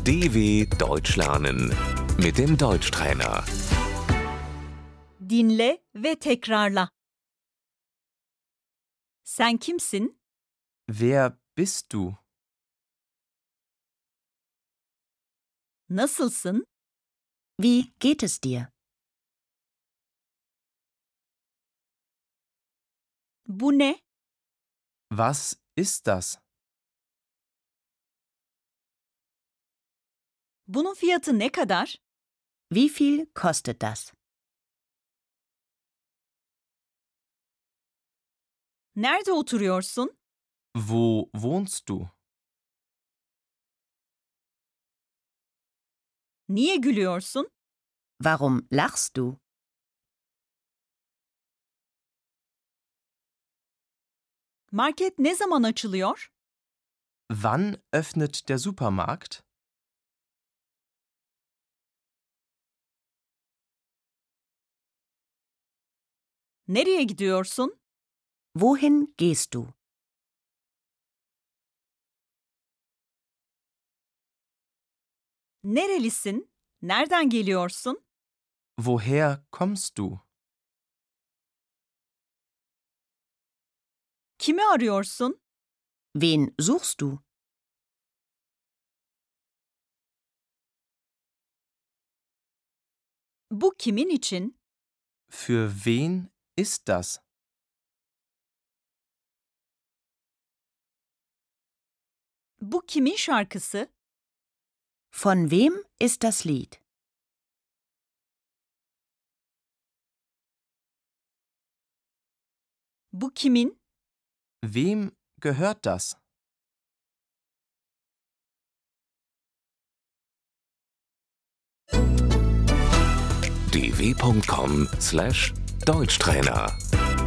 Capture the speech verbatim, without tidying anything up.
D W Deutsch lernen mit dem Deutschtrainer. Dinle ve tekrarla. Sen kimsin? Wer bist du? Nasılsın? Wie geht es dir? Bu ne? Was ist das? Bunun fiyatı ne kadar? Wie viel kostet das? Nerede oturuyorsun? Wo wohnst du? Niye gülüyorsun? Warum lachst du? Market ne zaman açılıyor? Wann öffnet der Supermarkt? Nereye gidiyorsun? Wohin gehst du? Nerelisin? Nereden geliyorsun? Woher kommst du? Kimi arıyorsun? Wen suchst du? Bu kimin için? Für wen ist das? Bu kimin şarkısı? Von wem ist das Lied? Bu kimin? Wem gehört das? d w punkt com slash Deutschtrainer